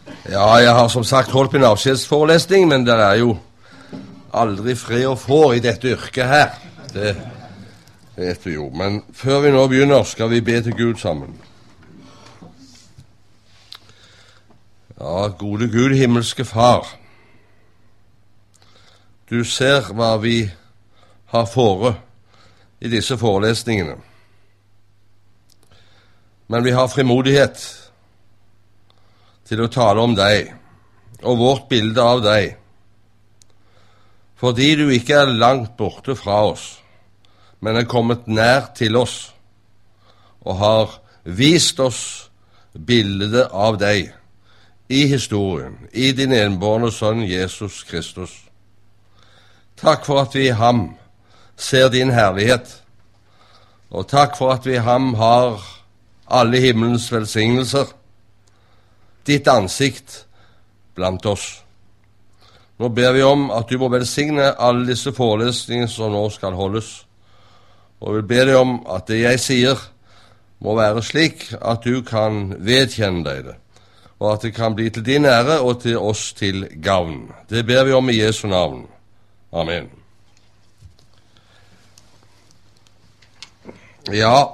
Ja, jeg har som sagt holdt min avskjedsforelesning, men det er jo aldri fred å få i dette yrket her. Det vet vi jo. Men før vi nå begynner, skal vi be til Gud sammen. Ja, gode Gud, himmelske Far. Du ser hva vi har fore i disse forelesningene. Men vi har frimodighet til å tale om deg og vårt bilde av deg, fordi du ikke er langt borte fra oss, men er kommet nær til oss og har vist oss bildet av deg i historien, i din enbårne sønn Jesus Kristus. Takk for at vi i ham ser din herlighet, og takk for at vi i ham har alle himmelens velsignelser, ditt ansikt blant oss. Nå ber vi om at du må velsigne alle disse forelesningene som nå skal holdes, og vi ber deg om at det jeg sier må være slik at du kan vedkjenne deg det, og at det kan bli til din ære og til oss til gavn. Det ber vi om i Jesu navn. Amen. Ja,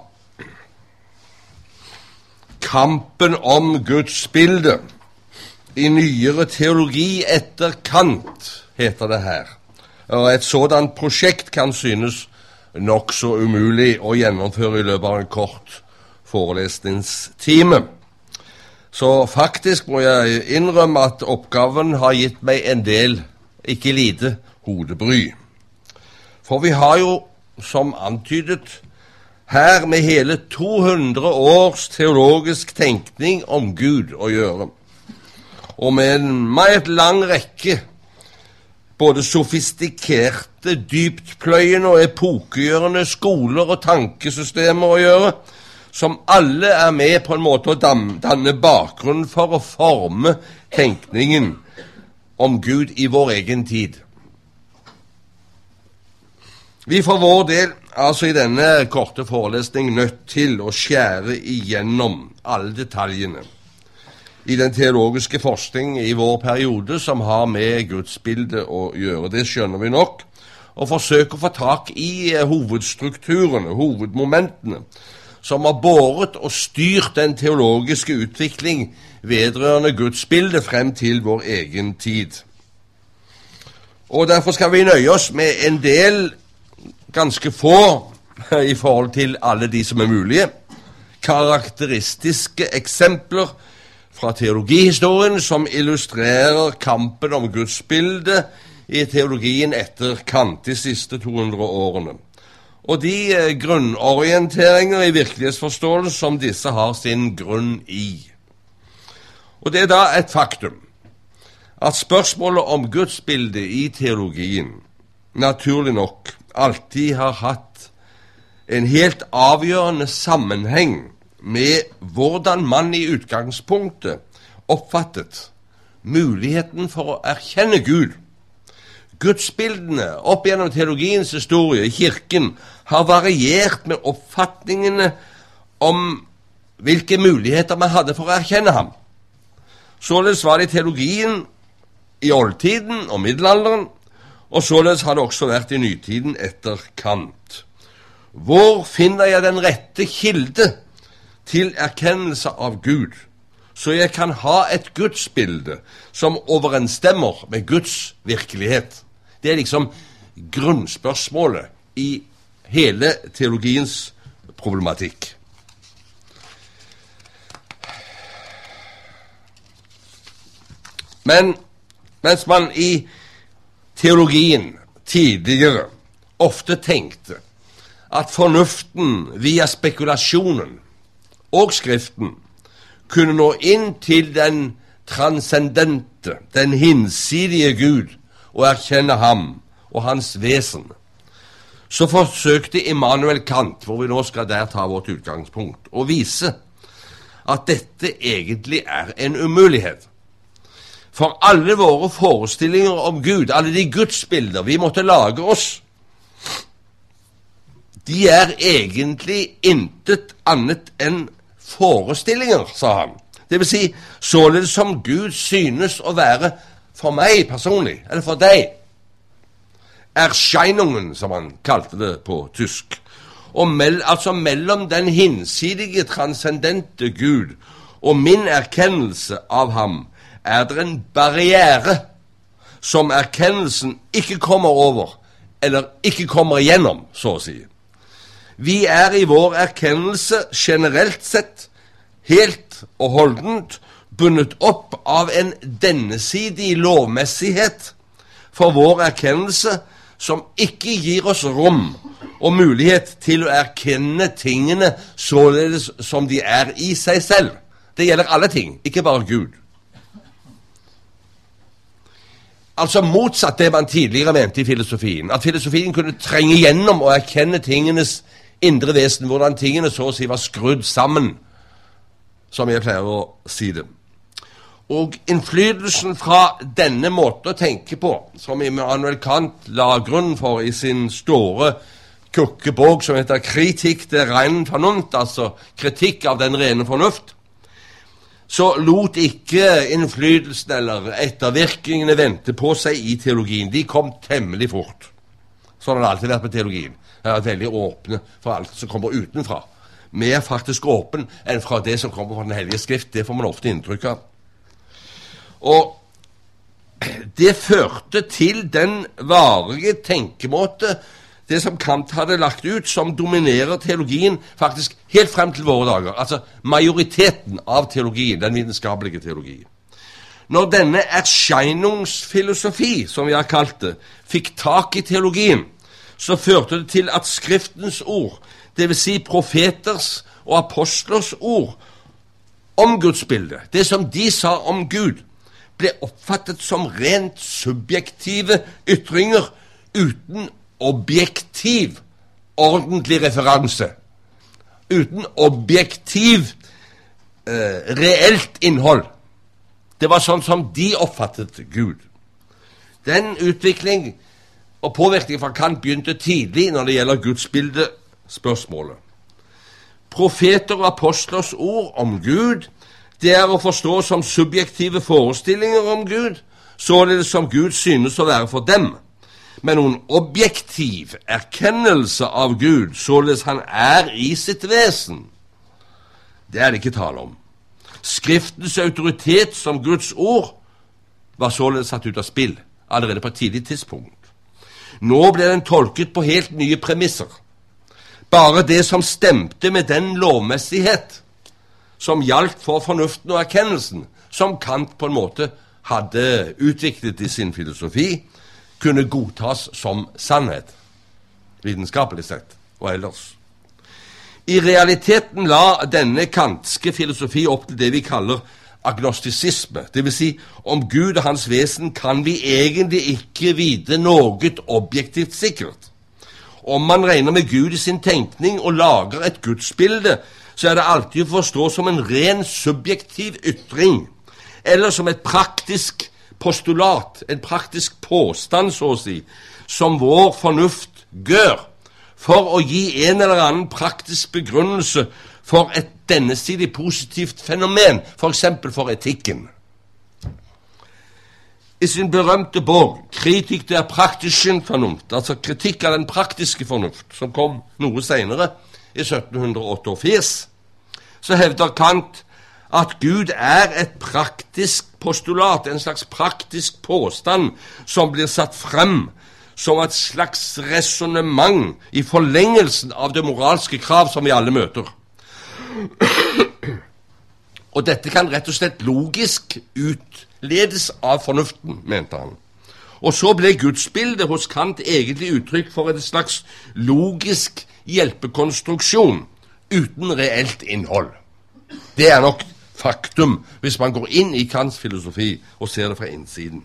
kampen om Guds bilde i nyere teologi etter Kant, heter det her. Og et sådant prosjekt kan synes nok så umulig å gjennomføre i løpet av en kort forelesningstime. Så faktisk må jeg innrømme at oppgaven har gitt meg en del, ikke lite, hodebry. For vi har jo, som antydet, her med hele 200 års teologisk tenkning om Gud å gjøre, og med en meget lang rekke både sofistikerte, dyptpløyende og epokegjørende skoler og tankesystemer å gjøre, som alle er med på en måte å danne bakgrunn for å forme tenkningen om Gud i vår egen tid. Vi for vår del altså i denne korte forelesning nødt til å skjære igjennom alle detaljene i den teologiske forskning i vår periode som har med gudsbildet å gjøre. Det skjønner vi nok, og forsøke å få tak i hovedstrukturene, hovedmomentene, som har båret og styrt den teologiske utvikling vedrørende gudsbildet frem til vår egen tid. Og derfor skal vi nøye oss med en del ganske få i forhold til alle de som er mulige, karakteristiske eksempler fra teologihistorien som illustrerer kampen om gudsbildet i teologien etter Kant de siste 200 årene, og de grunnorienteringer i virkelighetsforståelse som disse har sin grunn i. Og det er da et faktum at spørsmålet om gudsbildet i teologien naturlig nok alltid har hatt en helt avgjørende sammenheng med hvordan man i utgangspunktet oppfattet muligheten for å erkjenne Gud. Gudsbildene opp gjennom teologiens historie i kirken har variert med oppfatningene om hvilke muligheter man hadde for å erkjenne ham. Således var det i teologien i oldtiden og middelalderen, og således har det også vært i nytiden etter Kant. Hvor finner jeg den rette kilde til erkennelse av Gud, så jeg kan ha et gudsbilde som overensstemmer med Guds virkelighet? Det er liksom grunnspørsmålet i hele teologiens problematikk. Men mens man i teologien tidligere ofte tenkte at fornuften via spekulasjonen og Skriften kunne nå inn til den transcendente, den hinsidige Gud, og erkjenne ham og hans vesen, så forsøkte Immanuel Kant, hvor vi nå skal der ta vårt utgangspunkt, å vise at dette egentlig er en umulighet. For alle våre forestillinger om Gud, alle de gudsbilder vi måtte lage oss, de er egentlig intet annet enn forestillinger, sa han. Det vil si, således som Gud synes å være for meg personlig, eller for deg. Erscheinungen, som han kalte det på tysk. Og altså mellom den hinsidige, transcendente Gud og min erkennelse av ham, det en barriere som erkennelsen ikke kommer over, eller ikke kommer igjennom, så å si. Vi i vår erkennelse generelt sett helt og holdent bundet opp av en dennesidig lovmessighet for vår erkennelse som ikke gir oss rom og mulighet til å erkenne tingene således som de i seg selv. Det gjelder alle ting, ikke bare Gud. Altså motsatt det man tidligere mente i filosofien, at filosofien kunne trenge gjennom og erkenne tingenes indre vesen, hvordan tingene så å si var skrudd sammen, som jeg pleier å si det. Og innflytelsen fra denne måten å tenke på, som Immanuel Kant la grunn for i sin store kukkebok som heter Kritikk der reinen fornuft, altså kritikk av den rene fornuft, så lot ikke innflytelsen eller ettervirkningene vente på seg i teologien. De kom temmelig fort. Sånn har det alltid vært med teologien. Det er veldig åpne for alt som kommer utenfra. Mer faktisk åpen enn fra det som kommer fra den hellige skrift. Det får man ofte inntrykk av. Og det førte til den varige tenkemåte, det som Kant hadde lagt ut, som dominerer teologien faktisk helt frem til våre dager. Altså majoriteten av teologien, den vitenskapelige teologien. Når denne erscheinungsfilosofi, som vi har kalt det, fikk tak i teologien, så førte det til at Skriftens ord, det vil si profeters og apostlers ord om gudsbildet, det som de sa om Gud, ble oppfattet som rent subjektive ytringer uten objektiv, ordentlig referanse, uten objektiv, reelt innhold. Det var sånn som de oppfattet Gud. Den utvikling og påvirkning fra Kant begynte tidlig når det gjelder gudsbildespørsmålet. Profeter og apostlers ord om Gud, det å forstå som subjektive forestillinger om Gud, således som Gud synes å være for dem. Men noen objektiv erkennelse av Gud, således han i sitt vesen, det det ikke tale om. Skriftens autoritet som Guds ord var således satt ut av spill allerede på et tidlig tidspunkt. Nå ble den tolket på helt nye premisser. Bare det som stemte med den lovmessighet som gjaldt for fornuften og erkennelsen, som Kant på en måte hadde utviklet i sin filosofi, kunne godtas som sannhet, vitenskapelig sett og ellers. I realiteten la denne kantske filosofi opp til det vi kaller agnostisisme. Det vil si, om Gud og hans vesen kan vi egentlig ikke vite noe objektivt sikkert. Om man regner med Gud i sin tenkning og lager et gudsbilde, så det alltid å forstå som en ren subjektiv ytring, eller som et praktisk postulat, en praktisk påstand, så å si, som vår fornuft gjør, for å gi en eller annen praktisk begrunnelse for et dennesidig positivt fenomen, for eksempel for etikken. I sin berømte bok, Kritikk der praktischen Vernunft, altså kritikk av den praktiske fornuft, som kom noe senere, i 1788, så hevder Kant at Gud et praktisk postulat, en slags praktisk påstand, som blir satt frem som et slags resonemang i forlengelsen av det moralske krav som vi alle møter. Og dette kan rett og slett logisk utledes av fornuften, mente han. Og så ble gudsbildet hos Kant egentlig uttrykk for en slags logisk hjelpekonstruksjon uten reelt innhold. Det nok faktum hvis man går inn i Kants filosofi og ser det fra innsiden.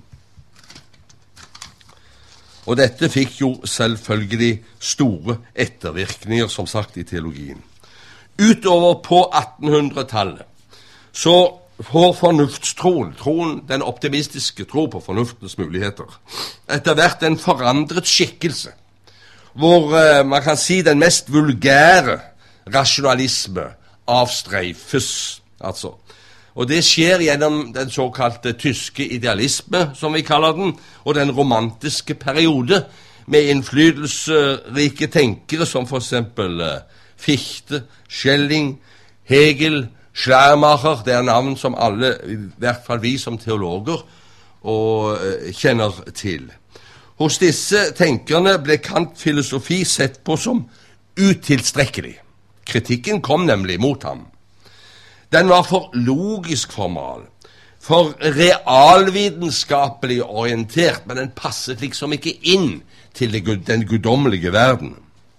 Og dette fikk jo selvfølgelig store ettervirkninger, som sagt, i teologien. Utover på 1800-tallet så får fornuftstroen, den optimistiske tro på fornuftens muligheter, etter hvert en forandret skikkelse, hvor man kan si den mest vulgære rasjonalisme avstreifes, altså, Og det skjer gjennom den såkalte tyske idealisme, som vi kaller den, og den romantiske periode, med innflytelsesrike tenkere som for eksempel Fichte, Schelling, Hegel, Schleiermacher. Det er navn som alle, i hvert fall vi som teologer, kjenner til. Hos disse tenkerne ble Kant-filosofi sett på som utilstrekkelig. Kritikken kom nemlig mot ham. Den var for logisk formal, for realvitenskapelig orientert, men den passet liksom ikke inn til den guddommelige verden.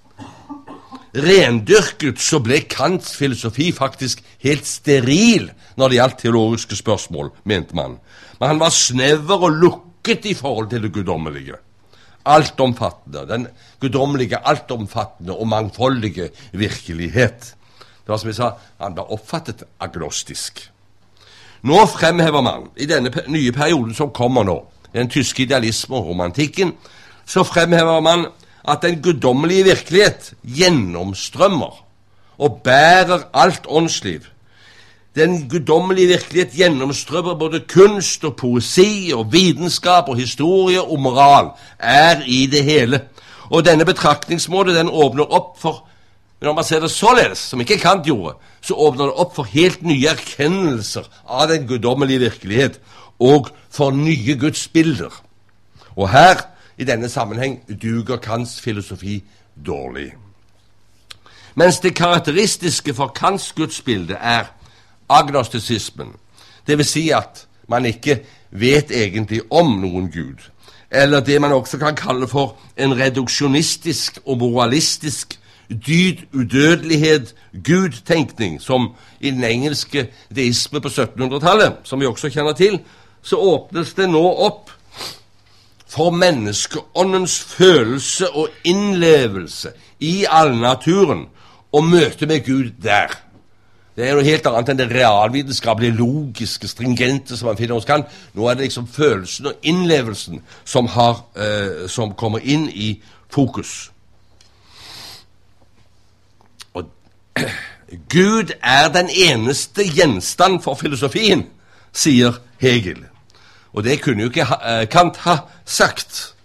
Rendyrket så ble Kants filosofi faktisk helt steril når det gjaldt teologiske spørsmål, mente man. Men han var snever og lukket i forhold til det guddommelige. Altomfattende, den guddommelige, altomfattende og mangfoldige virkelighet. Det var som jeg sa, han var oppfattet agnostisk. Nå fremhever man, i denne nye perioden som kommer nå, den tyske idealismen og romantikken, så fremhever man at den guddommelige virkelighet gjennomstrømmer og bærer alt åndsliv. Den guddommelige virkelighet gjennomstrømmer både kunst og poesi og vitenskap og historie og moral, er i det hele. Og denne betraktningsmåte, den åpner opp for, når man ser det således, som ikke Kant gjorde, så åpner det opp for helt nye erkjennelser av den guddommelige virkelighet og for nye gudsbilder. Og her, i denne sammenheng, duger Kants filosofi dårlig. Mens det karakteristiske for Kants gudsbilde er agnostisismen, det vil si at man ikke vet egentlig om noen Gud, eller det man også kan kalle for en reduksjonistisk og moralistisk udødelighet, Gud-tenkning, som i den engelske deisme på 1700-tallet, som vi også kjenner til, så åpnes det nå opp for menneskeåndens følelse og innlevelse i allnaturen og møte med Gud der. Det er noe helt annet enn det realvitenskapelige, logiske, stringente som man finner hos Kant. Nå er det liksom følelsen og innlevelsen som kommer inn i fokus. Og Gud er den eneste gjenstand for filosofien, sier Hegel. Og det kunne jo ikke Kant ha sagt.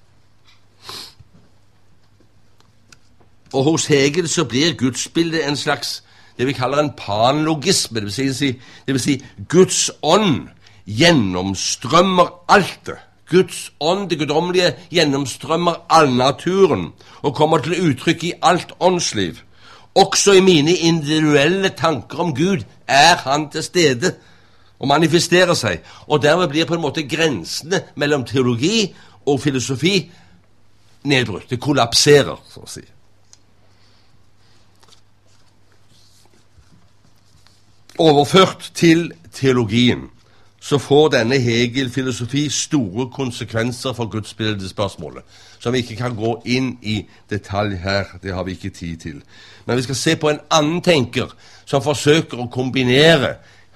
Og hos Hegel så blir gudsbildet en slags, det vi kaller en panlogisme, det vil si Guds ånd gjennomstrømmer alt det. Guds ånd, det guddommelige, gjennomstrømmer all naturen og kommer til uttrykk i alt åndsliv. Også i mine individuelle tanker om Gud er han til stede og manifesterer seg, og dermed blir på en måte grensene mellom teologi og filosofi nedbrutt. Det kollapserer, så å si. Overført til teologien, så får denne Hegel-filosofi store konsekvenser for gudsbildespørsmålet, som vi ikke kan gå inn i detalj her, det har vi ikke tid til. Men vi skal se på en annen tenker som forsøker å kombinere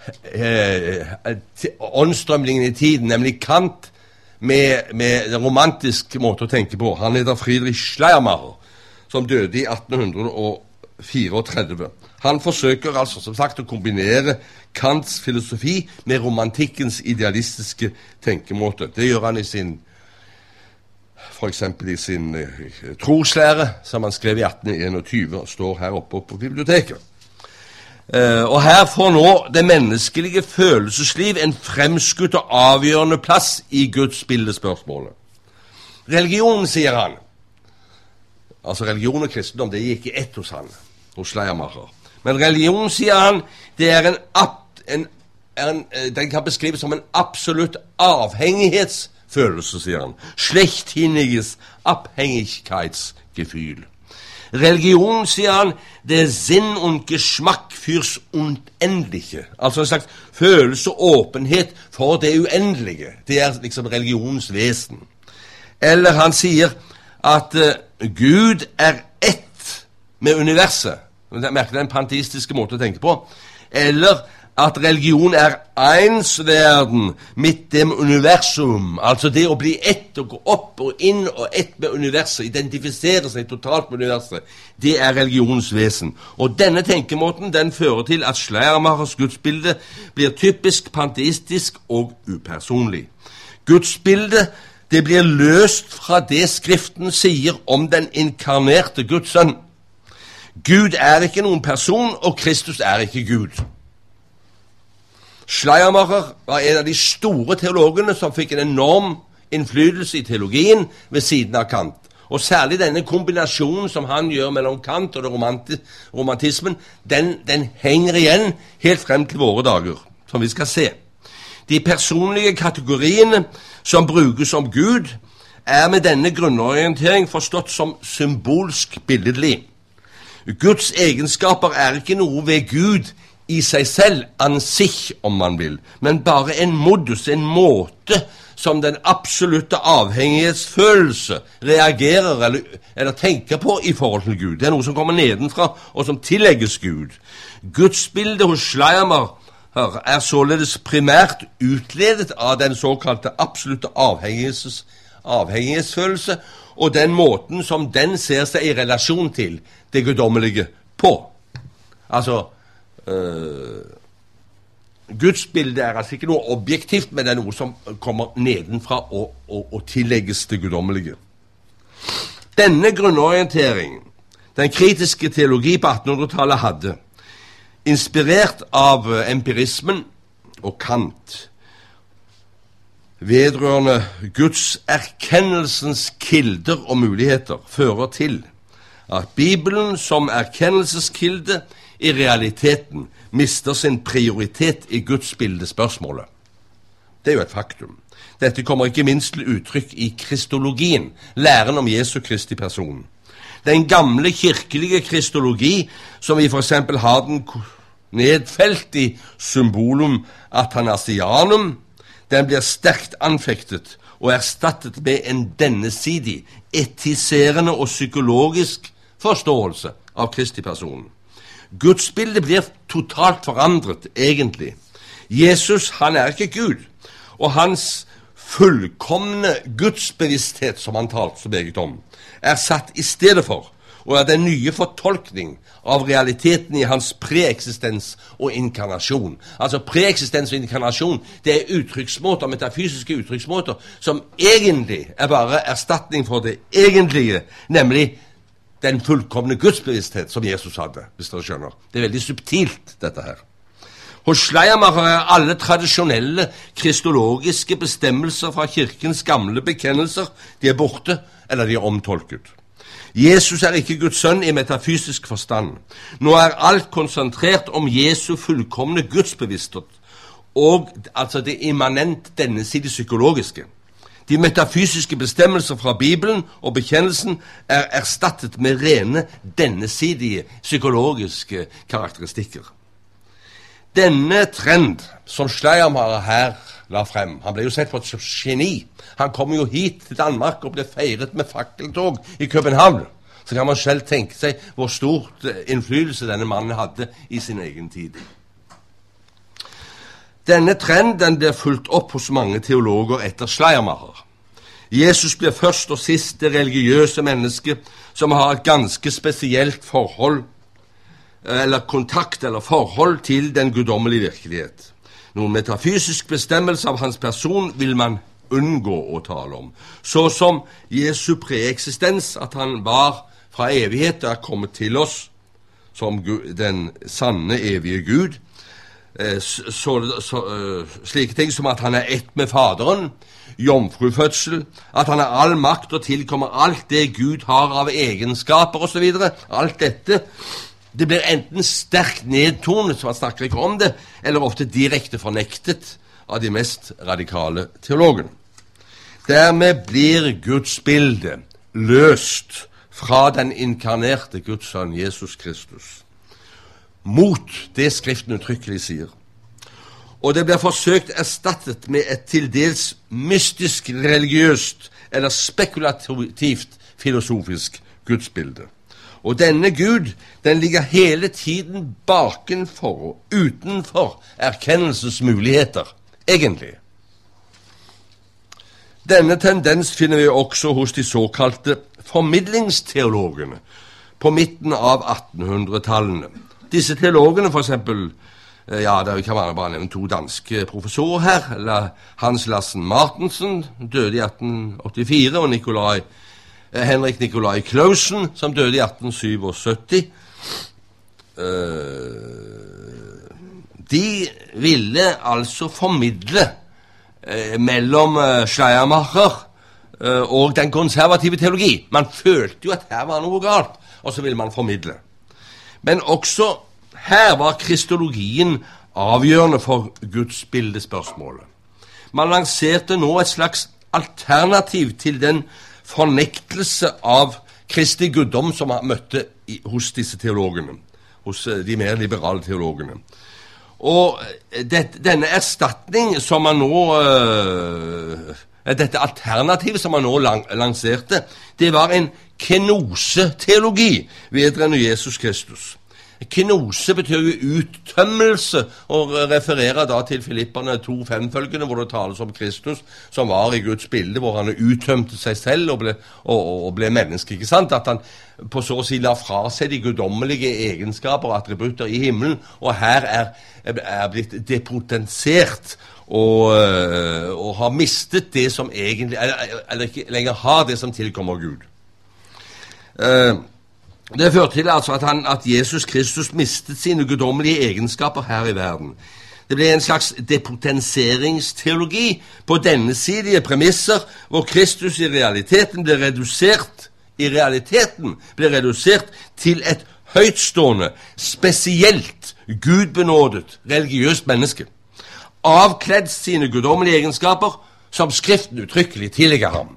åndstrømningen i tiden, nemlig Kant, med den romantiske måte å tenke på. Han heter Friedrich Schleiermacher, som døde i 1834. Han forsøker altså, som sagt, å kombinere Kants filosofi med romantikkens idealistiske tenkemåte. Det gjør han for eksempel i sin troslære, som han skrev i 1821, og står her oppe på biblioteket. Og her får nå det menneskelige følelsesliv en fremskutt og avgjørende plass i Guds bildespørsmålet. Religion, sier han, altså religion og kristendom, det gikk i ett hos han, hos Schleiermacher. Men religion, sier han, det er den kan beskrives som en absolutt avhengighetsfølelse, sier han. Schlechthiniges Abhängigkeitsgefühl. Religion, sier han, det er Sinn und Geschmack fürs Unendliche. Altså en slags følelse og åpenhet for det uendelige. Det er liksom religionens vesen. Eller han sier at Gud er ett med universet. Merker det en panteistiske måte å tenke på. Eller at religion ensverden midt dem universum, altså det å bli ett og gå opp og inn og ett med universet, identifisere seg totalt med universet, det religionens vesen. Og denne tenkemåten, den fører til at Schleiermachers gudsbilde blir typisk panteistisk og upersonlig. Gudsbildet, det blir løst fra det Skriften sier om den inkarnerte Guds sønn. Gud ikke noen person, og Kristus ikke Gud. Schleiermacher var en av de store teologene som fikk en enorm innflytelse i teologien ved siden av Kant. Og særlig denne kombinasjonen som han gjør mellom Kant og romantismen, den henger igjen helt frem til våre dager, som vi skal se. De personlige kategoriene som brukes om Gud, med denne grunnorientering forstått som symbolsk billedlig. Guds egenskaper ikke noe ved Gud i seg selv, an sich, om man vil, men bare en modus, en måte som den absolutte avhengighetsfølelse reagerer eller tenker på i forhold til Gud. Det noe som kommer nedenfra, og som tillegges Gud. Gudsbildet hos Schleiermacher således primært utledet av den såkalte absolutte avhengighetsfølelse, og den måten som den ser seg i relasjon til det guddommelige på. Altså, gudsbildet altså ikke noe objektivt, men det noe som kommer nedenfra og tillegges det guddommelige. Denne grunnorientering, den kritiske teologi på 1800-tallet hadde, inspirert av empirismen og Kant, vedrørende Guds erkennelsens kilder og muligheter, fører til at Bibelen som erkennelseskilde i realiteten mister sin prioritet i gudsbildespørsmålet. Det jo et faktum. Dette kommer ikke minst til uttrykk i kristologien, læren om Jesu Kristi person. Den gamle kirkelige kristologi, som vi for eksempel har den nedfelt i symbolum athanasianum, den blir sterkt anfektet og erstattet med en dennesidig, etiserende og psykologisk forståelse av Kristi person. Gudsbildet blir totalt forandret, egentlig. Jesus, han ikke Gud, og hans fullkomne gudsbevissthet, som han talte så meget om, satt i stedet for, og den nye fortolkning av realiteten i hans preeksistens og inkarnasjon. Altså preeksistens og inkarnasjon, det uttrykksmåter, metafysiske uttrykksmåter, som egentlig bare erstatning for det egentlige, nemlig den fullkomne gudsbevissthet som Jesus hadde, hvis dere skjønner. Det veldig subtilt, dette her. Hos Schleiermacher alle tradisjonelle kristologiske bestemmelser fra kirkens gamle bekjennelser, de borte, eller de omtolket. Jesus ikke Guds sønn i metafysisk forstand. Nå alt konsentrert om Jesu fullkomne gudsbevissthet, og altså det immanent dennesidige psykologiske. De metafysiske bestemmelser fra Bibelen og bekjennelsen erstattet med rene dennesidige psykologiske karakteristikker. Denne trend som Schleiermacher her la frem, han ble jo sett på et geni. Han kom jo hit til Danmark og ble feiret med fakkeltog i København. Så kan man selv tenke seg hvor stort innflytelse denne mannen hadde i sin egen tid. Denne trenden blir fulgt opp hos mange teologer etter Schleiermacher. Jesus blir først og sist det religiøse menneske som har et ganske spesielt forhold, eller kontakt eller forhold til den guddommelige virkelighet. Noen metafysisk bestemmelse av hans person vil man unngå å tale om, så som Jesu preeksistens, at han var fra evighet og kommet til oss som den sanne evige Gud, slike ting som at han ett med Faderen, jomfrufødsel, at han all makt og tilkommer alt det Gud har av egenskaper og så videre. Alt dette, det blir enten sterkt nedtonet, så man snakker ikke om det, eller ofte direkte fornektet av de mest radikale teologene. Dermed blir Guds bilde løst fra den inkarnerte Guds sønn Jesus Kristus, mot det Skriften uttrykkelig sier. Og det blir forsøkt erstattet med et til dels mystisk, religiøst eller spekulativt filosofisk gudsbilde. Og denne Gud, den ligger hele tiden bakenfor og utenfor erkennelsesmuligheter, egentlig. Denne tendens finner vi også hos de såkalte formidlingsteologene på midten av 1800-tallene. Disse teologene, for eksempel, det kan man bare nevne 2 danske professorer her, eller Hans Lassen Martensen, døde i 1884, og Henrik Nikolai Clausen, som døde i 1877. De ville altså formidle mellom Schleiermacher og den konservative teologi. Man følte jo at her var noe galt, og så ville man formidle. Men også her var kristologien avgjørende for gudsbildespørsmålet. Man lanserte nå et slags alternativ til den fornektelse av Kristi guddom som man møtte hos disse teologene, hos de mer liberale teologene. Og denne erstatning som man nå, dette alternativ som man nå lanserte, det var en kenoseteologi vedrørende Jesus Kristus. Kenose betyr jo uttømmelse, og refererer da til Filipperne 2:5-følgende, hvor det tales om Kristus, som var i Guds bilde, hvor han uttømte seg selv og ble menneske, ikke sant? At han på så å si la fra seg de guddommelige egenskaper og attributter i himmelen, og her er blitt depotensert og har mistet det som egentlig, eller ikke lenger har det som tilkommer Gud. Det førte til altså at Jesus Kristus mistet sine guddommelige egenskaper her i verden. Det ble en slags depotenseringsteologi på dennesidige premisser, hvor Kristus i realiteten ble redusert til et høytstående, spesielt gudbenådet, religiøst menneske, avkledd sine guddommelige egenskaper som Skriften uttrykkelig tillegger ham.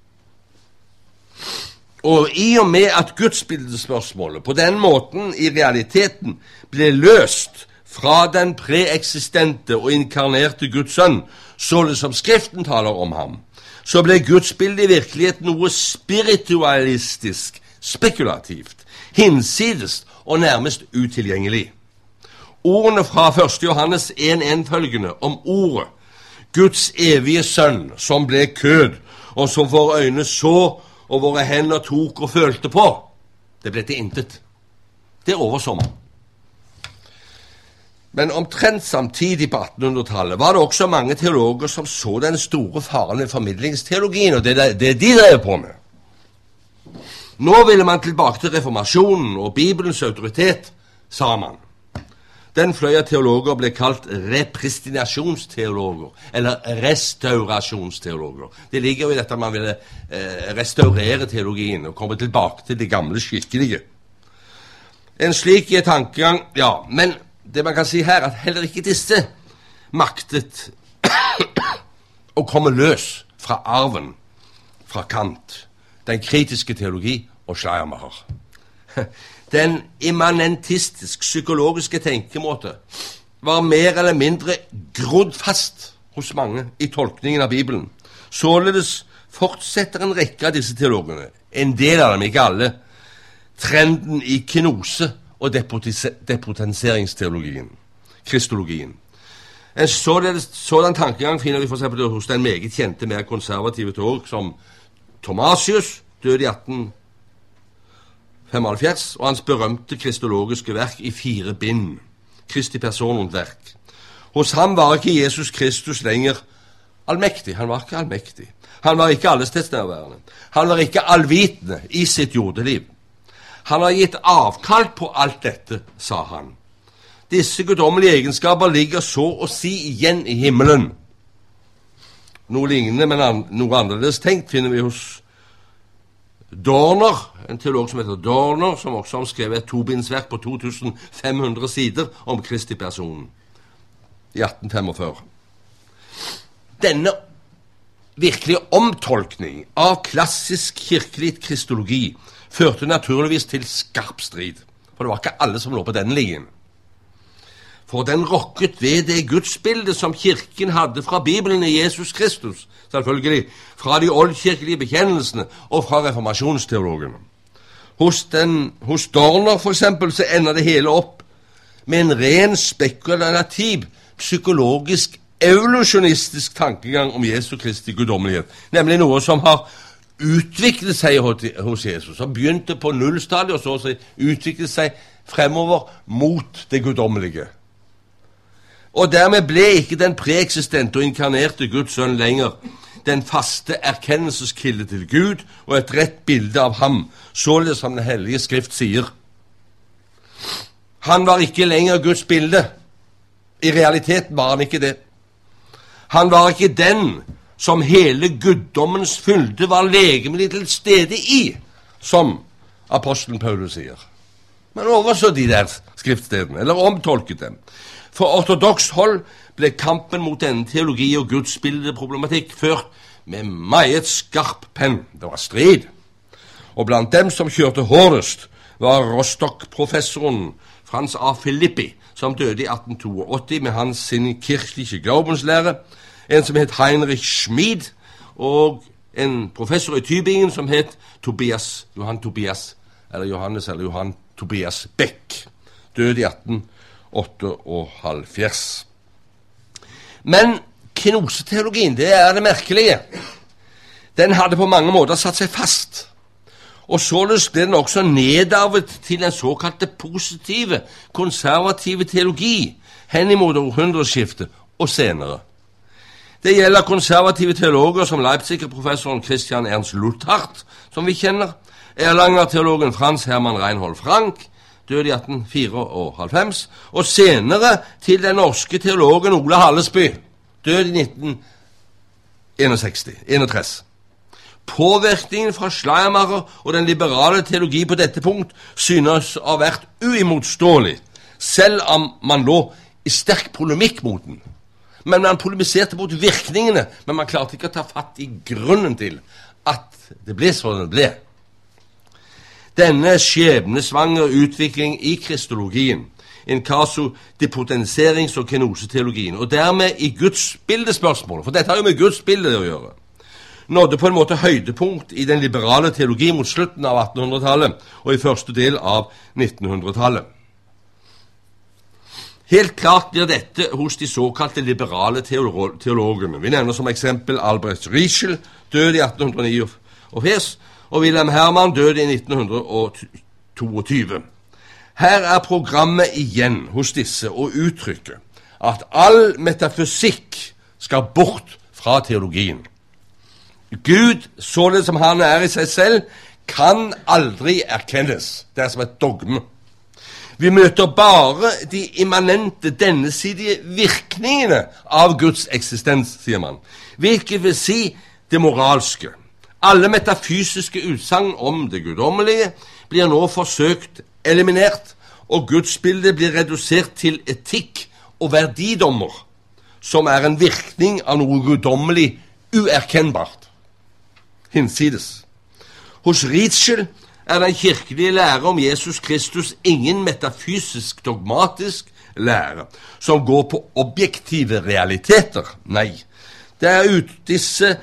Og i og med at gudsbildespørsmålet på den måten i realiteten ble løst fra den preeksistente og inkarnerte Guds sønn, således som Skriften taler om ham, så ble gudsbildet i virkeligheten noe spiritualistisk, spekulativt, hinsides og nærmest utilgjengelig. Ordene fra 1. Johannes 1:1-følgende om ordet, Guds evige sønn, som ble kød, og som våre øyne så, og våre hender tok og følte på, det ble til intet. Det overså man. Men omtrent samtidig på 1800-tallet var det også mange teologer som så den store faren ved formidlingsteologien, og det de drev på med. Nå ville man tilbake til reformasjonen og Bibelens autoritet, sa man. Den fløy av teologer ble kalt repristinasjonsteologer, eller restaurasjonsteologer. Det ligger jo i dette at man ville restaurere teologien og komme tilbake til det gamle skikkelige. En slik tankegang, men det man kan si her, at heller ikke disse maktet å komme løs fra arven, fra Kant, den kritiske teologi og Schleiermacher. Den immanentistisk-psykologiske tenkemåte var mer eller mindre grodd fast hos mange i tolkningen av Bibelen. Således fortsetter en rekke av disse teologene, en del av dem, ikke alle, trenden i kenose- og depotenseringsteologien, kristologien. En sådan tankegang finner vi for eksempel hos den meget kjente, mer konservative teolog som Thomasius, døde i 1875, og hans berømte kristologiske verk i 4 bind, Kristi person og verk. Hos ham var ikke Jesus Kristus lenger allmektig. Han var ikke allmektig. Han var ikke allestedsnærværende. Han var ikke allvitende i sitt jordeliv. Han har gitt avkall på alt dette, sa han. Disse guddommelige egenskaper ligger så å si igjen i himmelen. Noe lignende, men noe annerledes tenkt finner vi hos Dorner, en teolog som heter Dorner, som også har skrevet et 2-bindsverk på 2500 sider om Kristi personen i 1845. Denne virkelige omtolkning av klassisk kirkelig kristologi førte naturligvis til skarp strid, for det var ikke alle som lå på denne linjen. For den rokket ved det gudsbildet som kirken hadde fra Bibelen i Jesus Kristus, selvfølgelig, fra de oldkirkelige bekjennelsene og fra reformasjonsteologene. Hos Dorner for eksempel så ender det hele opp med en ren spekulativ, psykologisk, evolusjonistisk tankegang om Jesu Kristi guddommelighet, nemlig noe som har utviklet seg hos Jesus, som begynte på nullstadiet og så utviklet seg fremover mot det guddommelige. Og dermed ble ikke den preeksistente og inkarnerte Guds sønn lenger den faste erkennelseskilde til Gud og et rett bilde av ham, således som den hellige skrift sier. Han var ikke lenger Guds bilde. I realiteten var han ikke det. Han var ikke den som hele guddommens fylde var legemlig til stede i, som apostelen Paulus sier. Man overså de der skriftstedene, eller omtolket dem. For ortodoks hold ble kampen mot denne teologi og gudsbildeproblematikk ført med meget skarp penn. Det var strid. Og blant dem som kjørte hårdest var Rostock-professoren Franz A. Filippi, som døde i 1882 med sin kirkelige glaubenslære, en som het Heinrich Schmid, og en professor i Tübingen som het Johann Tobias Beck, døde i 1878. Men kenoseteologien, det er det merkelige. Den hadde på mange måter satt seg fast, og således ble den også nedarvet til den såkalte positive, konservative teologi henimot århundreskiftet og senere. Det gjelder konservative teologer som Leipzig-professoren Christian Ernst Luthardt, som vi kjenner, Erlanger-teologen Franz Hermann Reinhold Frank, døde i 1894, og senere til den norske teologen Ole Hallesby, døde i 1961. Påvirkningen fra Schleiermacher og den liberale teologi på dette punkt synes å ha vært uimotståelig, selv om man lå i sterk polemikk mot den. Men man polemiserte mot virkningene, men man klarte ikke å ta fatt i grunnen til at det ble sånn det ble. Denne skjebnesvangre utvikling i kristologien, in casu depotenserings- og kenoseteologien, og dermed i gudsbildespørsmålet, for dette har jo med gudsbildet å gjøre, nådde på en måte høydepunkt i den liberale teologi mot slutten av 1800-tallet og i første del av 1900-tallet. Helt klart blir dette hos de såkalte liberale teologene. Vi nevner som eksempel Albrecht Ritschl, døde i 1849, og Wilhelm Hermann døde i 1922. Her er programmet igjen hos disse å uttrykke at all metafysikk skal bort fra teologien. Gud, således som han er i seg selv, kan aldri erkennes. Det er som et dogme. Vi møter bare de immanente, dennesidige virkningene av Guds eksistens, sier man, hvilket vil si det moralske. Alle metafysiske utsagn om det guddommelige blir nå forsøkt eliminert, og gudsbildet blir redusert til etikk og verdidommer, som er en virkning av noe guddommelig uerkennbart. Hinsides. Hos Ritschl er den kirkelige lære om Jesus Kristus ingen metafysisk dogmatisk lære som går på objektive realiteter. Nei, det er disse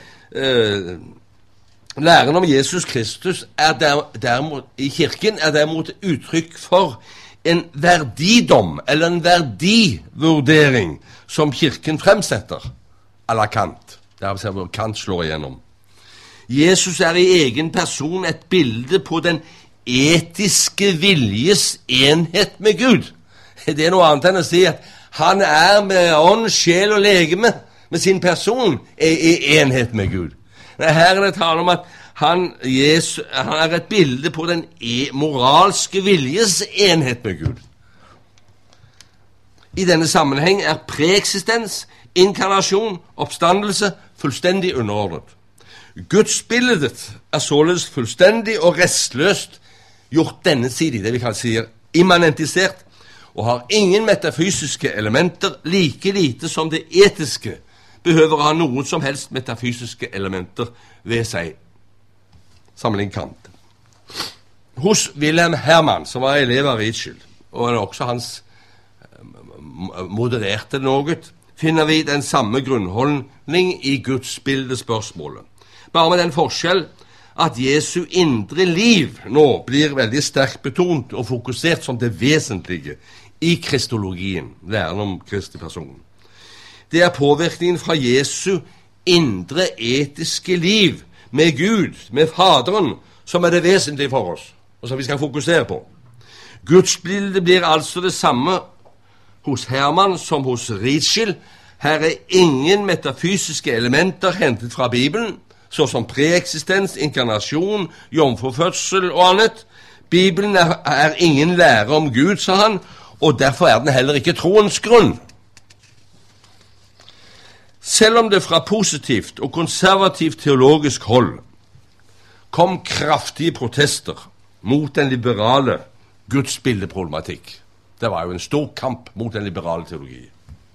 læren om Jesus Kristus derimot, i kirken er derimot uttrykk for en verdidom eller en verdivurdering som kirken fremsetter à la Kant. Det er hvor Kant slår igjennom. Jesus er i egen person et bilde på den etiske viljes enhet med Gud. Det er noe annet enn å si at han er med ånd, sjel og legeme, med sin person, i enhet med Gud. Her er det tale om at han er et bilde på den moralske viljes enhet med Gud. I denne sammenheng er preeksistens, inkarnasjon, oppstandelse fullstendig underordnet. Gudsbildet er således fullstendig og restløst gjort denne side, det vi kan si immanentisert, og har ingen metafysiske elementer, like lite som det etiske behøver å ha noen som helst metafysiske elementer ved seg. Sammenlign Kant. Hos Wilhelm Hermann, som var elev av Ritschl, og også hans modererte noe, finner vi den samme grunnholdning i gudsbildespørsmålet. Bare med den forskjell at Jesu indre liv nå blir veldig sterkt betont og fokusert som det vesentlige i kristologien, læren om Kristi person. Det er påvirkningen fra Jesu indre etiske liv med Gud, med Faderen, som er det vesentlige for oss, og som vi skal fokusere på. Gudsbildet blir altså det samme hos Hermann som hos Ritschl. Her er ingen metafysiske elementer hentet fra Bibelen, såsom preeksistens, inkarnasjon, jomfrufødsel og annet. Bibelen er ingen lære om Gud, sa han, og derfor er den heller ikke troens grunn. Selv om det fra positivt og konservativt teologisk hold kom kraftige protester mot den liberale gudsbildeproblematikk, det var jo en stor kamp mot den liberale teologi,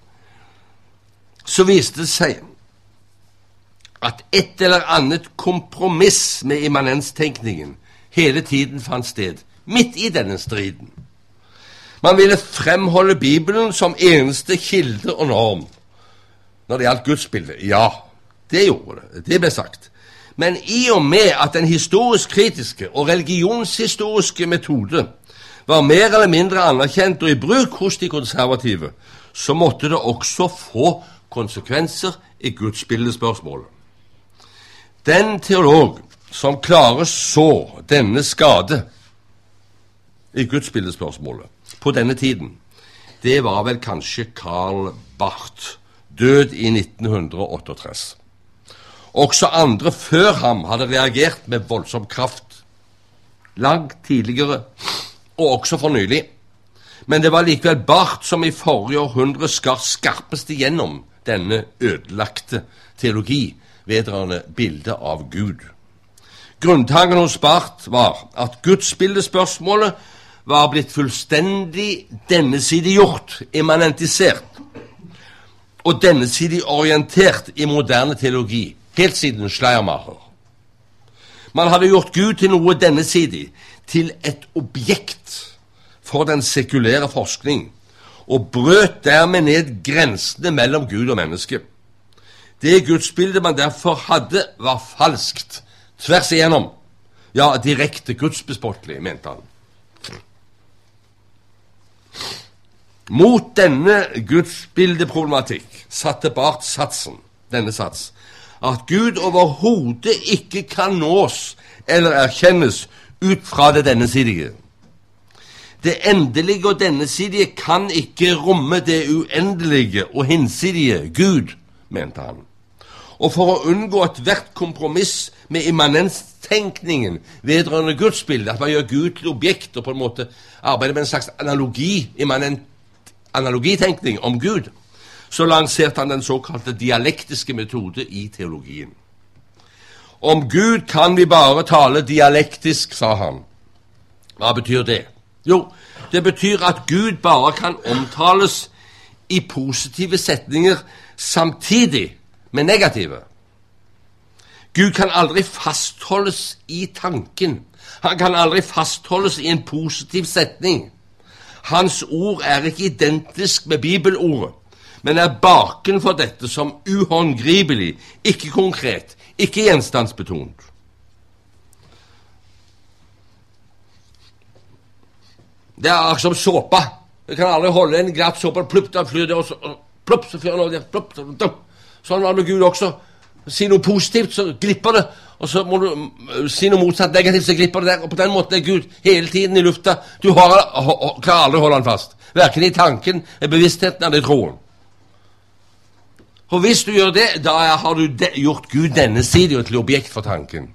så viste det seg at et eller annet kompromiss med immanenstenkningen hele tiden fant sted, midt i denne striden. Man ville fremholde Bibelen som eneste kilde og norm når det gjaldt gudsbildet. Ja, det gjorde det. Det ble sagt. Men i og med at den historisk-kritiske og religionshistoriske metode var mer eller mindre anerkjent og i bruk hos de konservative, så måtte det også få konsekvenser i gudsbildespørsmålet. Den teolog som klarer så denne skade i gudsbildespørsmålet på denne tiden, det var vel kanskje Karl Barth, død i 1968. Også andre før ham hadde reagert med voldsom kraft, langt tidligere og også for nylig. Men det var likevel Barth som i forrige århundre skar skarpest igjennom denne ødelagte teologi vedrørende bildet av Gud. Grunntanken hos Barth var at gudsbildespørsmålet var blitt fullstendig dennesidiggjort, immanentisert, og dennesidig orientert i moderne teologi, helt siden Schleiermacher. Man hadde gjort Gud til noe dennesidig, til et objekt for den sekulære forskning, og brøt dermed ned grensene mellom Gud og menneske. Det gudsbildet man derfor hadde, var falskt, tvers igjennom, ja, direkte gudsbespottelig, mente han. Mot denne gudsbildeproblematikk satte Barth satsen, denne sats, at Gud overhodet ikke kan nås eller erkjennes ut fra det dennesidige. Det endelige og dennesidige kan ikke romme det uendelige og hinsidige Gud, mente han. Og for å unngå ethvert kompromiss med immanenstenkningen vedrørende gudsbildet, at man gjør Gud til objekt og på en måte arbeider med en slags analogitenkning om Gud, så lanserte han den såkalte dialektiske metode i teologien. Om Gud kan vi bare tale dialektisk, sa han. Hva betyr det? Jo, det betyr at Gud bare kan omtales i positive setninger samtidig med negative. Gud kan aldri fastholdes i tanken. Han kan aldri fastholdes i en positiv setning. Hans ord er ikke identisk med bibelordet, men er baken for dette som uhåndgripelig, ikke konkret, ikke gjenstandsbetont. Det er akkurat som såpa. Du kan aldri holde en glatt såpe, plupp, da flyr det, og så plupp, så flyr det, plupp, så sånn var det med Gud også. Si noe positivt, så glipper det, og så må du si noe motsatt negativt, så glipper det der, og på den måten er Gud hele tiden i lufta. Du klarer aldri å holde han fast, hverken i tanken, i bevisstheten eller i troen. For hvis du gjør det, da har du gjort Gud dennesidig til objekt for tanken.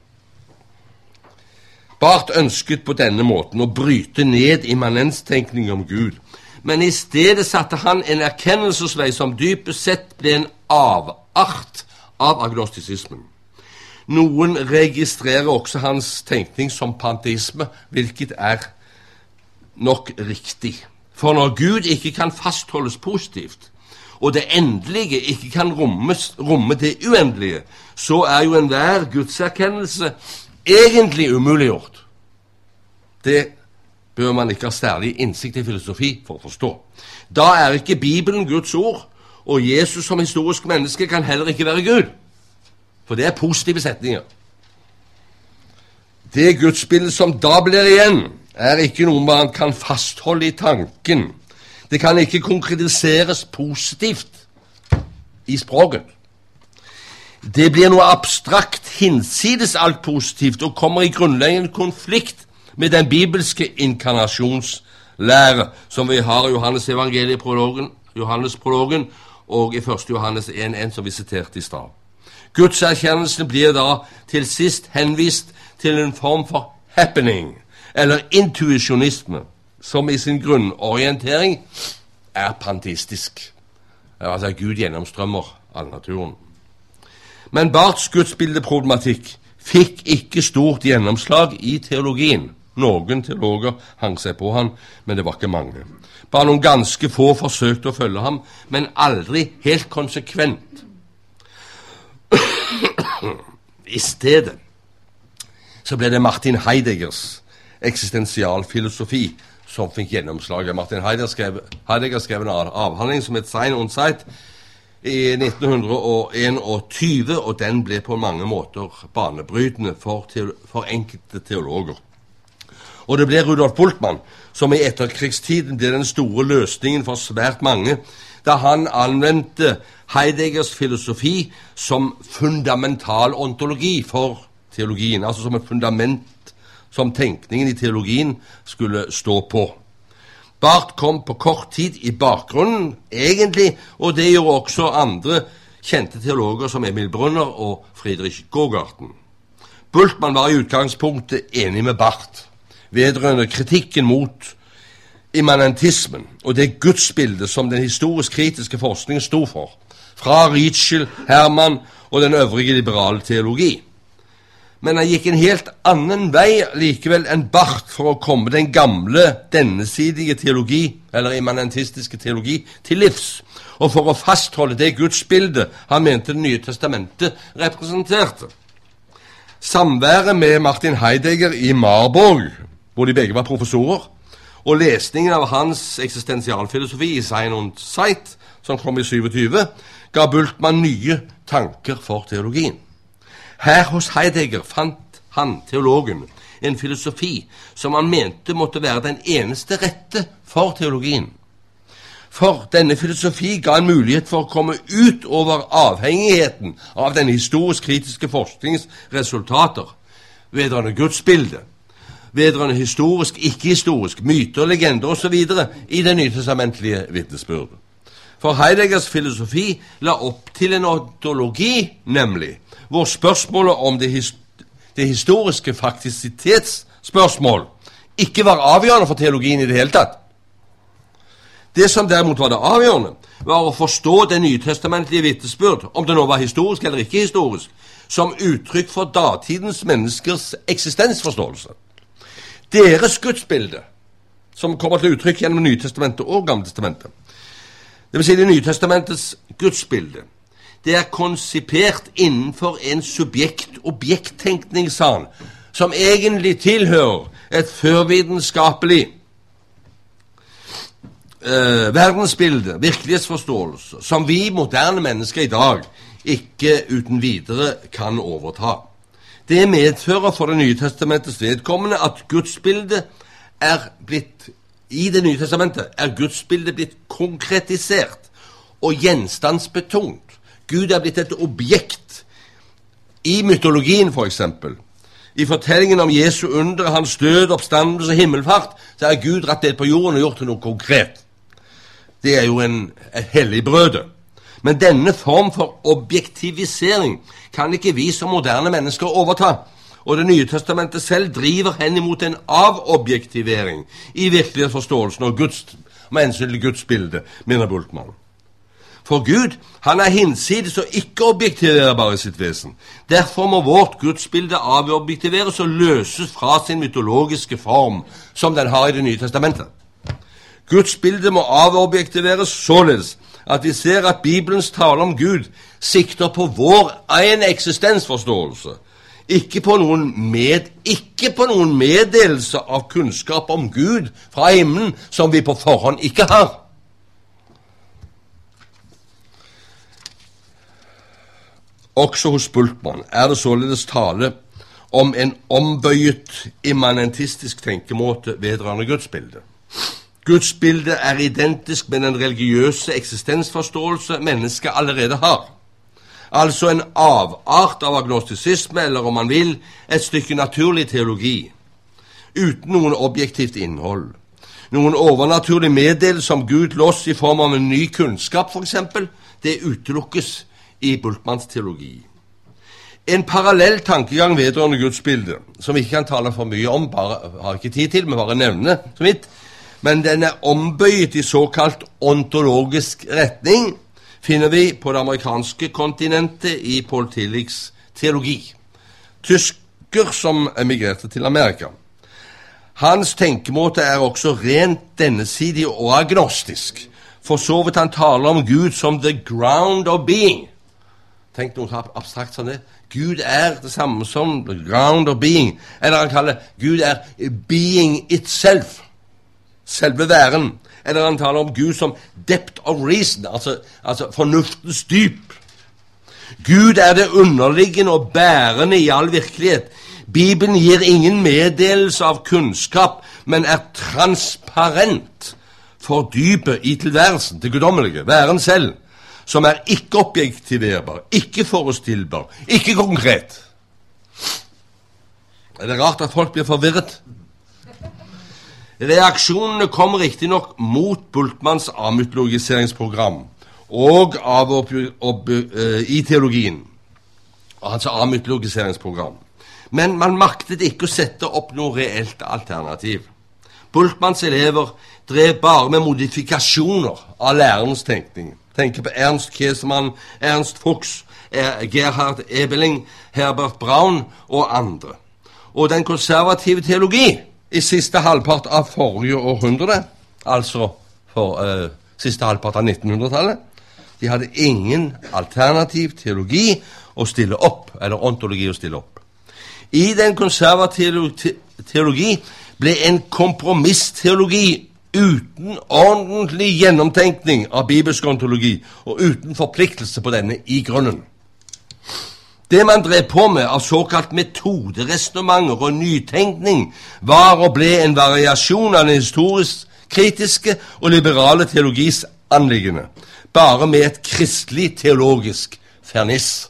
Barth ønsket på denne måten å bryte ned immanenstenkning om Gud, men i stedet satte han en erkjennelsesvei som dypest sett ble en avart av agnostisismen. Noen registrerer også hans tenkning som panteisme, hvilket er nok riktig. For når Gud ikke kan fastholdes positivt, og det endelige ikke kan romme det uendelige, så er jo enhver gudserkjennelse egentlig umuliggjort. Det bør man ikke ha særlig innsikt i filosofi for å forstå. Da er ikke Bibelen Guds ord, og Jesus som historisk menneske kan heller ikke være Gud. For det er positive setninger. Det gudsbilde som da blir igjen, er ikke noe man kan fastholde i tanken. Det kan ikke konkretiseres positivt i språket. Det blir noe abstrakt hinsides alt positivt og kommer i grunnleggende konflikt med den bibelske inkarnasjonslære som vi har i Johannes-prologen og i 1. Johannes 1,1 som vi siterte i stad. Gudserkjennelsen blir da til sist henvist til en form for happening, eller intuisjonisme, som i sin grunnorientering er panteistisk. Altså Gud gjennomstrømmer all naturen. Men Barths gudsbildeproblematikk fikk ikke stort gjennomslag i teologien. Noen teologer hang seg på han, men det var ikke mange. Bare noen ganske få forsøkte å følge ham, men aldri helt konsekvent. I stedet så ble det Martin Heideggers eksistensialfilosofi som fikk gjennomslaget. Martin Heidegger skrev en avhandling som het Sein und Zeit i 1921, og den ble på mange måter banebrytende for enkelte teologer. Og det ble Rudolf Bultmann som i etterkrigstiden ble den store løsningen for svært mange, da han anvendte Heideggers filosofi som fundamental ontologi for teologien, altså som et fundament som tenkningen i teologien skulle stå på. Barth kom på kort tid i bakgrunnen, egentlig, og det gjorde også andre kjente teologer som Emil Brunner og Friedrich Gogarten. Bultmann var i utgangspunktet enig med Barth vedrørende kritikken mot immanentismen og det gudsbildet som den historisk-kritiske forskningen stod for, fra Ritschl, Hermann og den øvrige liberale teologi. Men han gikk en helt annen vei likevel enn Barth for å komme den gamle, dennesidige teologi, eller immanentistiske teologi, til livs, og for å fastholde det gudsbildet han mente Det nye testamentet representerte. Samværet med Martin Heidegger i Marburg, hvor de begge var professorer, og lesningen av hans eksistensialfilosofi i Sein und Zeit, som kom i 27, ga Bultmann nye tanker for teologien. Her hos Heidegger fant han, teologen, en filosofi som han mente måtte være den eneste rette for teologien. For denne filosofi ga en mulighet for å komme ut over avhengigheten av den historisk-kritiske forskningens resultater, vedrørende gudsbildet, vedrørende historisk, ikke-historisk, myter, legender osv. i det nytestamentlige vitnesbyrdet. For Heideggers filosofi la opp til en ontologi, nemlig, hvor spørsmålet om det historiske faktisitetsspørsmål ikke var avgjørende for teologien i det hele tatt. Det som derimot var det avgjørende, var å forstå det nytestamentlige vitnesbyrd, om det nå var historisk eller ikke historisk, som uttrykk for datidens menneskers eksistensforståelse. Deres gudsbilde, som kommer til uttrykk gjennom Nytestamentet og Gammeltestamentet, det vil si det Nytestamentets gudsbilde, det er konsipert innenfor en subjekt-objekttenkning, sa han, som egentlig tilhører et førvitenskapelig verdensbilde, virkelighetsforståelse, som vi moderne mennesker i dag ikke uten videre kan overta. Det medfører for Det nye testamentets vedkommende at gudsbildet er blitt, i Det nye testamentet, er gudsbildet blitt konkretisert og gjenstandsbetont. Gud er blitt et objekt i mytologien, for eksempel. I fortellingen om Jesu under, hans død, oppstandelse og himmelfart, så er Gud rett ned på jorden og gjort til noe konkret. Det er jo et helligbrøde. Men denne form for objektivisering kan ikke vi som moderne mennesker overta, og Det nye testamentet selv driver hen imot en avobjektivering i virkelighetsforståelsen og med hensyn til Guds bilde, mener Bultmann. For Gud, han er hinsides og ikke objektiverbar i sitt vesen. Derfor må vårt gudsbilde avobjektiveres og løses fra sin mytologiske form, som den har i Det nye testamentet. Gudsbildet må avobjektiveres således at vi ser at Bibelens tale om Gud sikter på vår egen eksistensforståelse, ikke på noen meddelelse av kunnskap om Gud fra himmelen som vi på forhånd ikke har. Også hos Bultmann er det således tale om en ombøyet immanentistisk tenkemåte vedrørende gudsbildet. Gudsbildet er identisk med den religiøse eksistensforståelse mennesket allerede har. Altså en avart av agnostisisme, eller om man vil, et stykke naturlig teologi, uten noen objektivt innhold. Noen overnaturlig meddelelse om Gud loss i form av en ny kunnskap, for eksempel, det utelukkes i Bultmanns teologi. En parallell tankegang vedrørende gudsbildet, som vi ikke kan tale for mye om, har ikke tid til, men bare nevne så vidt, men den er ombøyet i såkalt ontologisk retning, finner vi på det amerikanske kontinentet i Paul Tillichs teologi. Tysker som emigrerte til Amerika. Hans tenkemåte er også rent dennesidig og agnostisk. For så vidt han taler om Gud som the ground of being. Tenk noe abstrakt som det. Gud er det samme som the ground of being. Eller han kaller Gud er being itself. Selve væren. Eller han taler om Gud som depth of reason, altså fornuftens dyp. Gud er det underliggende og bærende i all virkelighet. Bibelen gir ingen meddelelse av kunnskap, men er transparent for dypet i tilværelsen, det guddommelige, væren selv, som er ikke objektiverbar, ikke forestillbar, ikke konkret. Er det rart at folk blir forvirret? Reaksjonene kom riktig nok mot Bultmanns amytologiseringsprogram og i teologien, altså amytologiseringsprogram. Men man maktet ikke å sette opp noe reelt alternativ. Bultmanns elever drev bare med modifikasjoner av lærerens tenkning. Tenker på Ernst Käsemann, Ernst Fuchs, Gerhard Ebeling, Herbert Braun og andre. Og den konservative teologi i siste halvpart av forrige århundre, altså siste halvpart av 1900-tallet, de hadde ingen alternativ teologi å stille opp, eller ontologi å stille opp. I den konservative teologi ble en kompromissteologi uten ordentlig gjennomtenkning av bibelsk ontologi og uten forpliktelse på denne i grunnen. Det man drev på med av såkalt metoderesonnementer og nytenkning var og ble en variasjon av den historisk kritiske og liberale teologis anliggende, bare med et kristelig teologisk ferniss.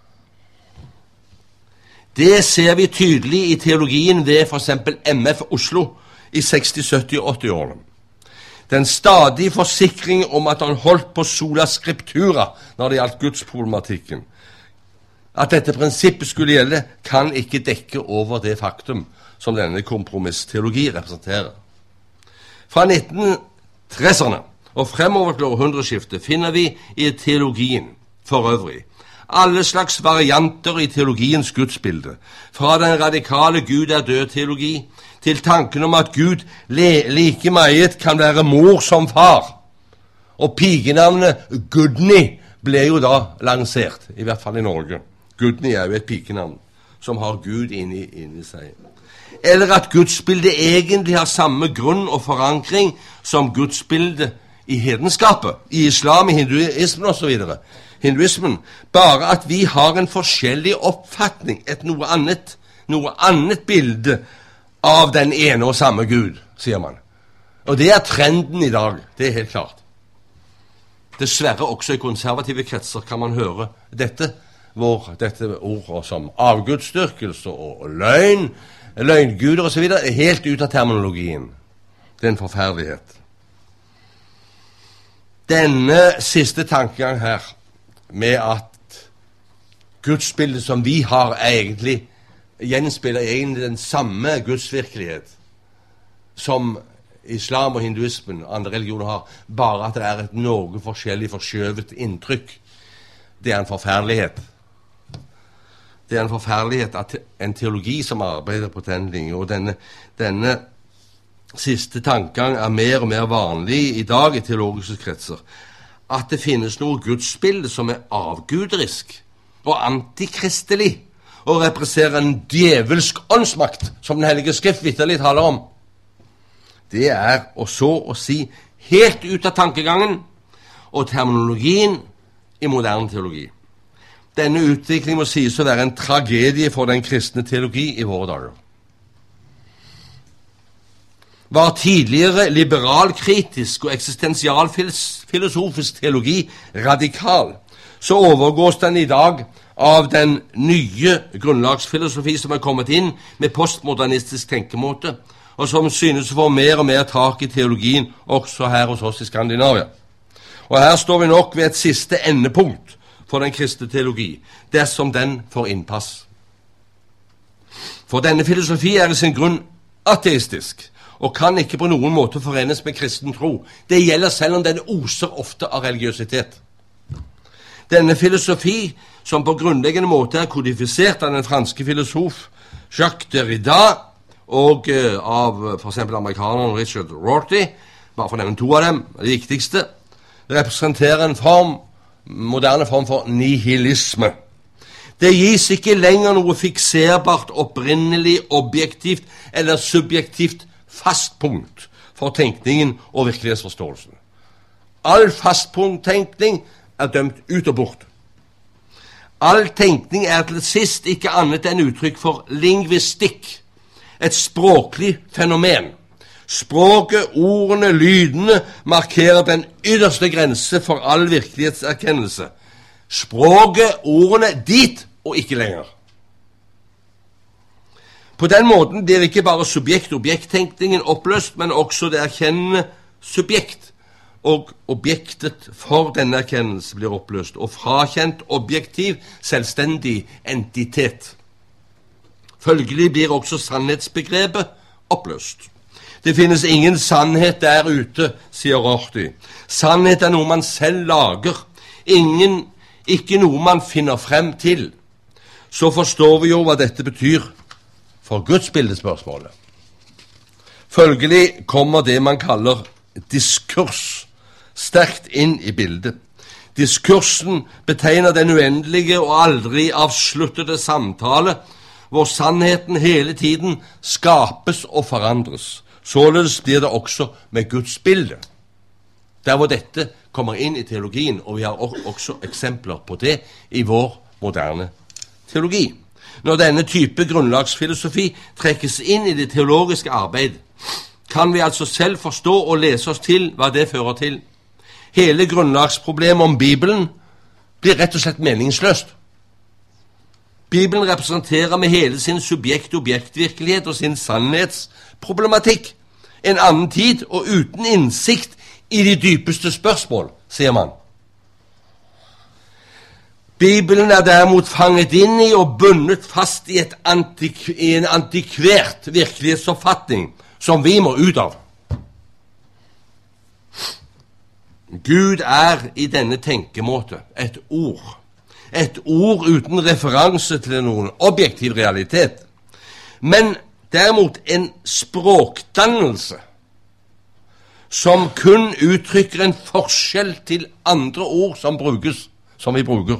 Det ser vi tydelig i teologien ved for eksempel MF Oslo i 60-, 70- og 80-årene. Den stadige forsikring om at han holdt på sola scriptura når det gjaldt gudsproblematikken, at dette prinsippet skulle gjelde, kan ikke dekke over det faktum som denne kompromissteologi representerer. Fra 1930-erne og fremover til århundreskiftet finner vi i teologien for øvrig alle slags varianter i teologiens gudsbilde, fra den radikale Gud er død-teologi til tanken om at Gud like meget kan være mor som far. Og pikenavnet Gudny ble jo da lansert, i hvert fall i Norge. Gudny er jo et pikenavn som har Gud inni seg. Eller at gudsbildet egentlig har samme grunn og forankring som gudsbildet i hedenskapet, i islam, i hinduismen og så videre. Hinduismen, bare at vi har en forskjellig oppfatning, et noe annet bilde av den ene og samme Gud, sier man. Og det er trenden i dag, det er helt klart. Dessverre også i konservative kretser kan man høre dette ordet som avgudsdyrkelse og løgn, løgnguder og så videre, er helt ut av terminologien. Det er en forferdelighet. Denne siste tankegang her, med at gudsbildet som vi har gjenspeiler egentlig den samme gudsvirkelighet som islam og hinduismen og andre religioner har, bare at det er et noe forskjellig forskjøvet inntrykk. Det er en forferdelighet. Det er en forferdelighet at en teologi som arbeider på den linjen, og denne siste tankegang er mer og mer vanlig i dag i teologiske kretser, at det finnes noe gudsbilde som er avguderisk og antikristelig, og representerer en djevelsk åndsmakt, som den hellige skrift vitterlig taler om. Det er å så å si helt ut av tankegangen og terminologien i moderne teologi. Denne utviklingen må sies å være en tragedie for den kristne teologi i våre dager. Var tidligere liberalkritisk og eksistensialfilosofisk teologi radikal, så overgås den i dag av den nye grunnlagsfilosofi som er kommet inn med postmodernistisk tenkemåte, og som synes å få mer og mer tak i teologien også her hos oss i Skandinavia. Og her står vi nok ved et siste endepunkt for den kristne teologi, dersom den får innpass. For denne filosofi er i sin grunn ateistisk, og kan ikke på noen måte forenes med kristen tro. Det gjelder selv om den oser ofte av religiøsitet. Denne filosofi, som på grunnleggende måte er kodifisert av den franske filosof Jacques Derrida og av for eksempel amerikaneren Richard Rorty, bare for å nevne to av dem, det viktigste, representerer en moderne form for nihilisme. Det gis ikke lenger noe fikserbart, opprinnelig, objektivt eller subjektivt fastpunkt for tenkningen og virkelighetsforståelsen. All fastpunkttenkning er dømt ut og bort. All tenkning er til sist ikke annet enn uttrykk for lingvistikk, et språklig fenomen. Språket, ordene, lydene markerer den ytterste grense for all virkelighetserkennelse. Språket, ordene, dit og ikke lenger. På den måten blir ikke bare subjekt-objekttenkningen oppløst, men også det erkjennende subjekt, og objektet for denne erkjennelse blir oppløst, og frakjent objektiv, selvstendig entitet. Følgelig blir også sannhetsbegrepet oppløst. Det finnes ingen sannhet der ute, sier Rorty. Sannhet er noe man selv lager, ikke noe man finner frem til. Så forstår vi jo hva dette betyr for gudsbildespørsmålet. Følgelig kommer det man kaller diskurs sterkt inn i bildet. Diskursen betegner den uendelige og aldri avsluttede samtale, hvor sannheten hele tiden skapes og forandres. Således blir det også med Guds bilde. Der hvor dette kommer inn i teologien, og vi har også eksempler på det i vår moderne teologi. Når denne type grunnlagsfilosofi trekkes inn i det teologiske arbeid, kan vi altså selv forstå og lese oss til hva det fører til. Hele grunnlagsproblemet om Bibelen blir rett og slett meningsløst. Bibelen representerer med hele sin subjekt-objektvirkelighet og sin sannhetsproblematikk en annen tid og uten innsikt i de dypeste spørsmål, sier man. Bibelen er derimot fanget inn i og bundet fast i en antikvert virkelighetsoppfatning som vi må ut av. Gud er i denne tenkemåte et ord uten referanse til noen objektiv realitet, men derimot en språkdannelse som kun uttrykker en forskjell til andre ord som vi bruker.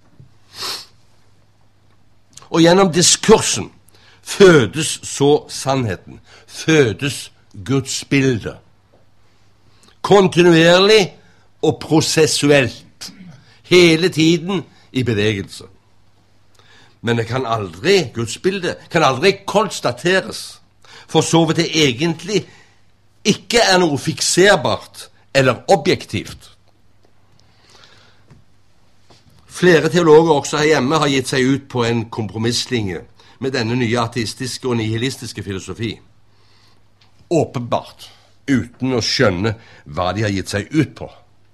Og gjennom diskursen fødes så sannheten, fødes Guds bilde. Kontinuerlig og prosessuelt, hele tiden i bevegelse. Men det kan aldri, Guds bilde, kan aldri konstateres, for så vidt det egentlig ikke er noe fikserbart eller objektivt. Flere teologer også her hjemme har gitt seg ut på en kompromisslinje med denne nye ateistiske og nihilistiske filosofi. Åpenbart, uten å skjønne hva de har gitt seg ut på.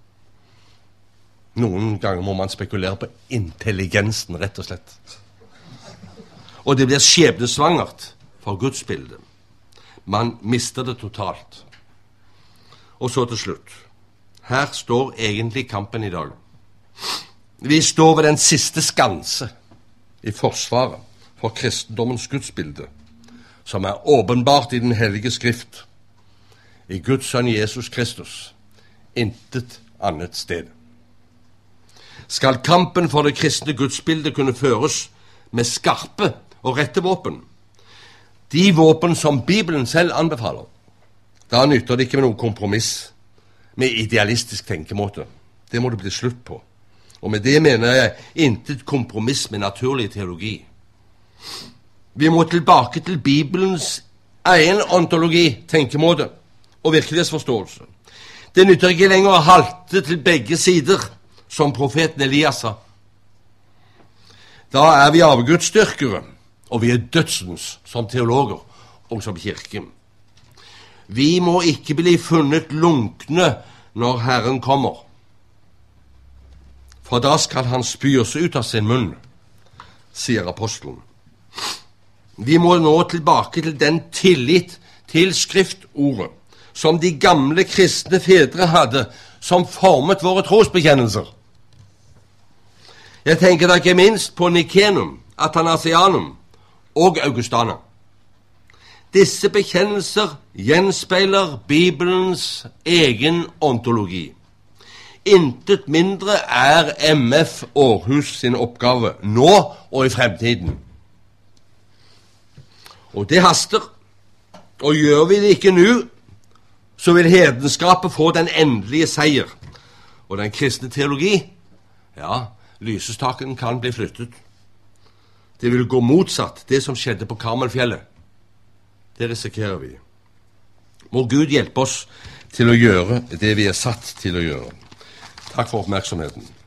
Noen ganger må man spekulere på intelligensen, rett og slett. Og det blir skjebnesvangert for Guds bilde. Man mister det totalt. Og så til slutt. Her står egentlig kampen i dag. Vi står ved den siste skanse i forsvaret for kristendommens gudsbilde, som er åpenbart i den hellige skrift, i Guds sønn Jesus Kristus, intet annet sted. Skal kampen for det kristne gudsbildet kunne føres med skarpe og rette våpen, de våpen som Bibelen selv anbefaler, da nytter det ikke med noen kompromiss med idealistisk tenkemåte. Det må det bli slutt på. Og med det mener jeg intet kompromiss med naturlig teologi. Vi må tilbake til Bibelens egen ontologi, tenkemåte og virkelighetsforståelse. Det nytter ikke lenger å halte til begge sider, som profeten Elias sa. Da er vi avgudsdyrkere, og vi er dødsens som teologer og som kirke. Vi må ikke bli funnet lunkne når Herren kommer, for da skal han spy oss ut av sin munn, sier apostelen. Vi må nå tilbake til den tillit til skriftordet som de gamle kristne fedre hadde, som formet våre trosbekjennelser. Jeg tenker da ikke minst på Nikenum, Athanasianum og Augustana. Disse bekjennelser gjenspeiler Bibelens egen ontologi. Intet mindre er MF Århus sin oppgave, nå og i fremtiden. Og det haster, og gjør vi det ikke nå, så vil hedenskapet få den endelige seier. Og den kristne teologi, ja, lysestaken kan bli flyttet. Det vil gå motsatt det som skjedde på Karmelfjellet. Det risikerer vi. Må Gud hjelpe oss til å gjøre det vi er satt til å gjøre. Takk for oppmerksomheten.